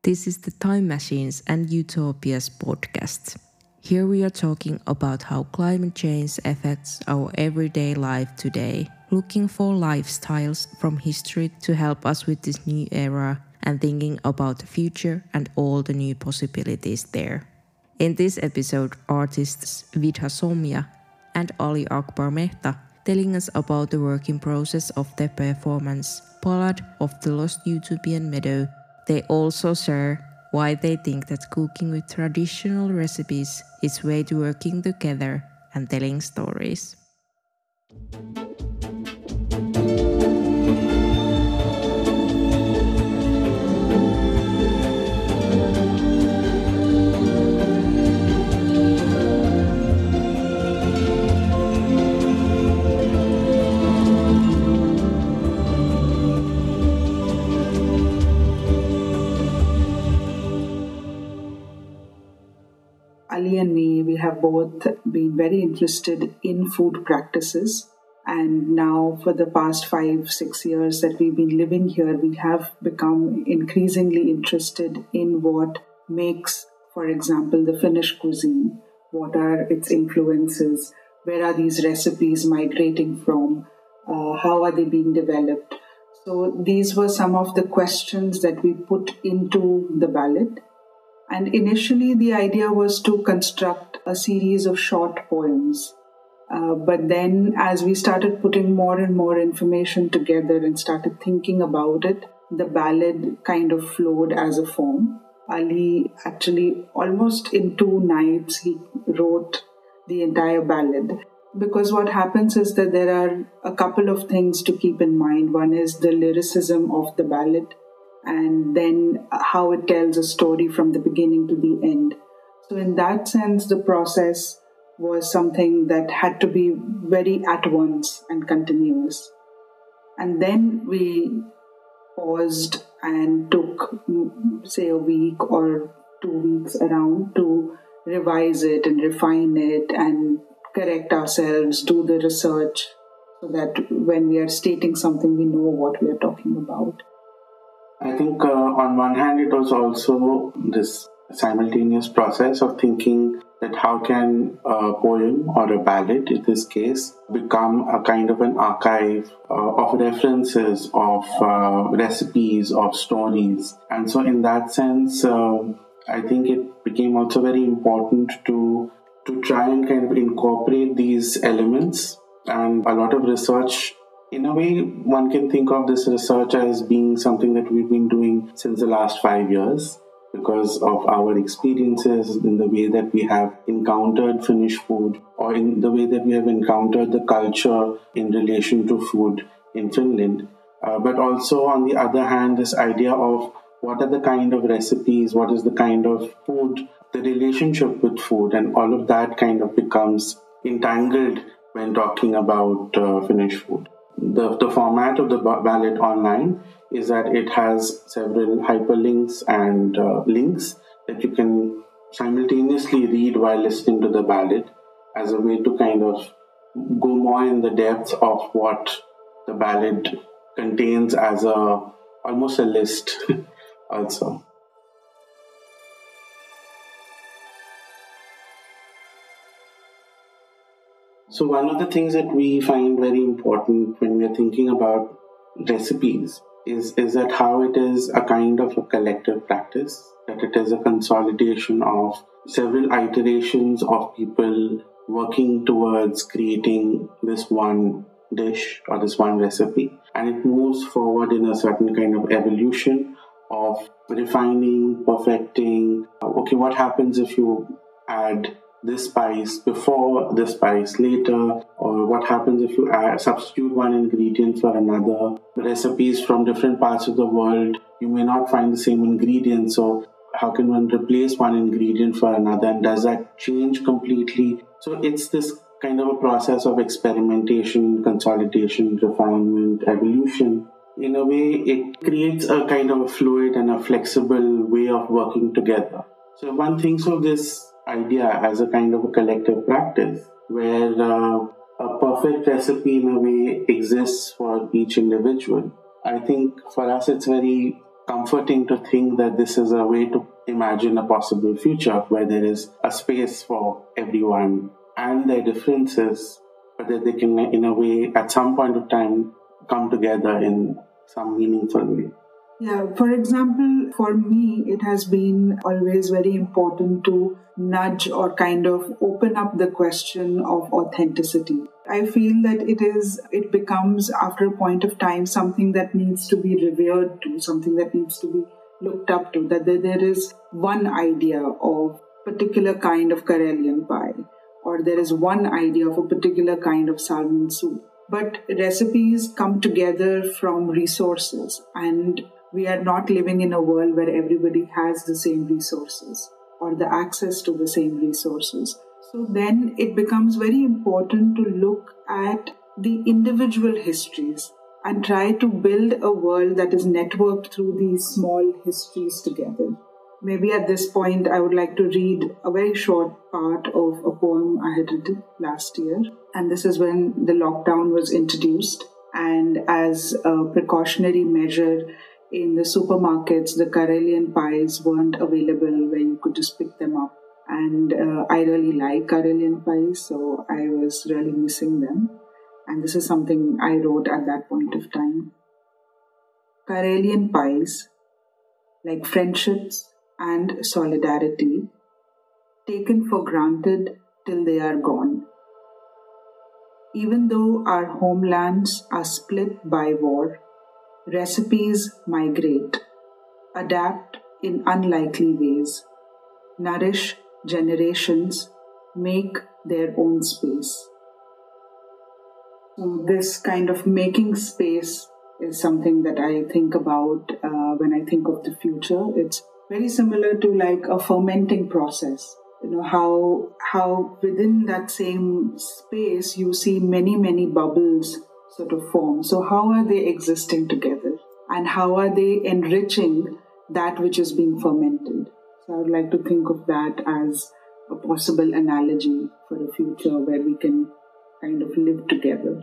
This is the Time Machines and Utopias podcast. Here we are talking about how climate change affects our everyday life today, looking for lifestyles from history to help us with this new era and thinking about the future and all the new possibilities there. In this episode, artists Vidha Somya and Ali Akbar Mehta telling us about the working process of their performance, Ballad of the Lost Utopian Meadow. They also share why they think that cooking with traditional recipes is way to working together and telling stories. Ali and me, we have both been very interested in food practices. And now, for the past 5-6 years that we've been living here, we have become increasingly interested in what makes, for example, the Finnish cuisine. What are its influences? Where are these recipes migrating from? How are they being developed? So these were some of the questions that we put into the ballad. And initially, the idea was to construct a series of short poems. But then, as we started putting more and more information together and started thinking about it, the ballad kind of flowed as a form. Ali actually, almost in 2 nights, he wrote the entire ballad. Because what happens is that there are a couple of things to keep in mind. One is the lyricism of the ballad, and then how it tells a story from the beginning to the end. So in that sense, the process was something that had to be very at once and continuous. And then we paused and took, say, a week or 2 weeks around to revise it and refine it and correct ourselves, do the research, so that when we are stating something, we know what we are talking about. I think on one hand, it was also this simultaneous process of thinking that how can a poem or a ballad, in this case, become a kind of an archive of references, of recipes, of stories. And so in that sense, I think it became also very important to try and kind of incorporate these elements, and a lot of research. In a way, one can think of this research as being something that we've been doing since the last 5 years because of our experiences in the way that we have encountered Finnish food, or in the way that we have encountered the culture in relation to food in Finland. But also, on the other hand, this idea of what are the kind of recipes, what is the kind of food, the relationship with food, and all of that kind of becomes entangled when talking about Finnish food. The format of the ballad online is that it has several hyperlinks and links that you can simultaneously read while listening to the ballad, as a way to kind of go more in the depth of what the ballad contains, as almost a list also. So one of the things that we find very important when we are thinking about recipes is that how it is a kind of a collective practice, that it is a consolidation of several iterations of people working towards creating this one dish or this one recipe. And it moves forward in a certain kind of evolution of refining, perfecting. Okay, what happens if you add this spice before, this spice later, or what happens if you substitute one ingredient for another. Recipes from different parts of the world, you may not find the same ingredient, so how can one replace one ingredient for another, and does that change completely? So it's this kind of a process of experimentation, consolidation, refinement, evolution. In a way, it creates a kind of a fluid and a flexible way of working together. So one thinks of this idea as a kind of a collective practice where a perfect recipe in a way exists for each individual. I think for us it's very comforting to think that this is a way to imagine a possible future where there is a space for everyone and their differences, but that they can, in a way, at some point of time, come together in some meaningful way. Yeah, for example, for me, it has been always very important to nudge or kind of open up the question of authenticity. I feel that it becomes, after a point of time, something that needs to be revered to, something that needs to be looked up to, that there is one idea of a particular kind of Karelian pie, or there is one idea of a particular kind of salmon soup. But recipes come together from resources, and we are not living in a world where everybody has the same resources or the access to the same resources. So then it becomes very important to look at the individual histories and try to build a world that is networked through these small histories together. Maybe at this point, I would like to read a very short part of a poem I had written last year. And this is when the lockdown was introduced. And as a precautionary measure, in the supermarkets, the Karelian pies weren't available where you could just pick them up. And I really like Karelian pies, so I was really missing them. And this is something I wrote at that point of time. Karelian pies, like friendships and solidarity, taken for granted till they are gone. Even though our homelands are split by war, recipes migrate, adapt in unlikely ways, nourish generations, make their own space. So this kind of making space is something that I think about when I think of the future. It's very similar to like a fermenting process. You know, how within that same space you see many bubbles sort of form. So how are they existing together? And how are they enriching that which is being fermented? So I would like to think of that as a possible analogy for a future where we can kind of live together.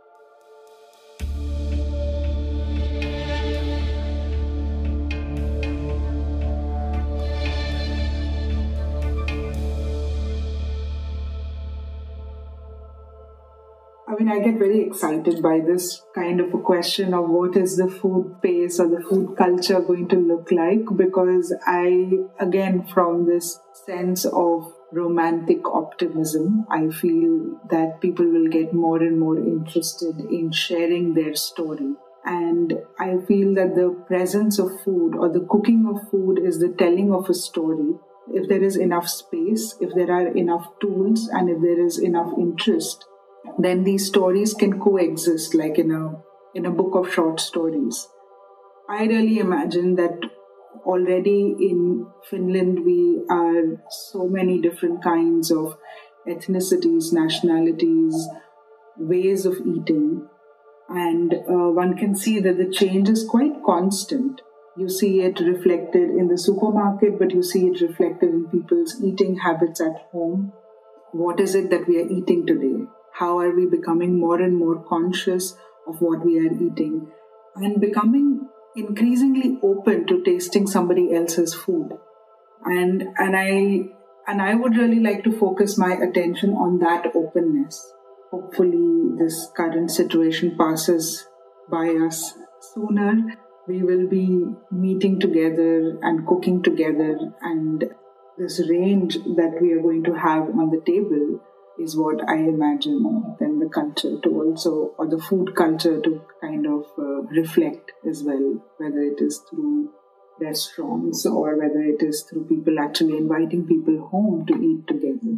I mean, I get very excited by this kind of a question of what is the food space or the food culture going to look like, because I, again, from this sense of romantic optimism, I feel that people will get more and more interested in sharing their story. And I feel that the presence of food or the cooking of food is the telling of a story. If there is enough space, if there are enough tools, and if there is enough interest, then these stories can coexist like in a book of short stories. I really imagine that already in Finland we are so many different kinds of ethnicities, nationalities, ways of eating, and one can see that the change is quite constant. You see it reflected in the supermarket, but you see it reflected in people's eating habits at home. What is it that we are eating today? How are we becoming more and more conscious of what we are eating and becoming increasingly open to tasting somebody else's food? And I would really like to focus my attention on that openness. Hopefully this current situation passes by us sooner. We will be meeting together and cooking together, and this range that we are going to have on the table is what I imagine then the culture to also, or the food culture to kind of reflect as well, whether it is through restaurants or whether it is through people actually inviting people home to eat together.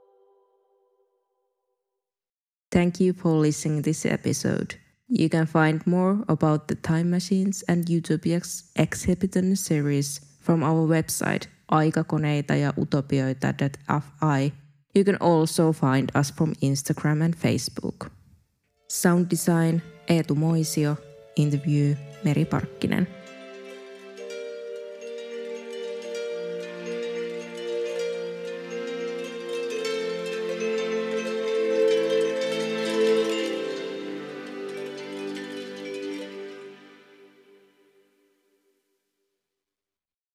Thank you for listening to this episode. You can find more about the Time Machines and Utopia's exhibition series from our website aikakoneita ja utopioita.fi. You can also find us from Instagram and Facebook. Sound design Eetu Moisio. Interview Meri Parkkinen.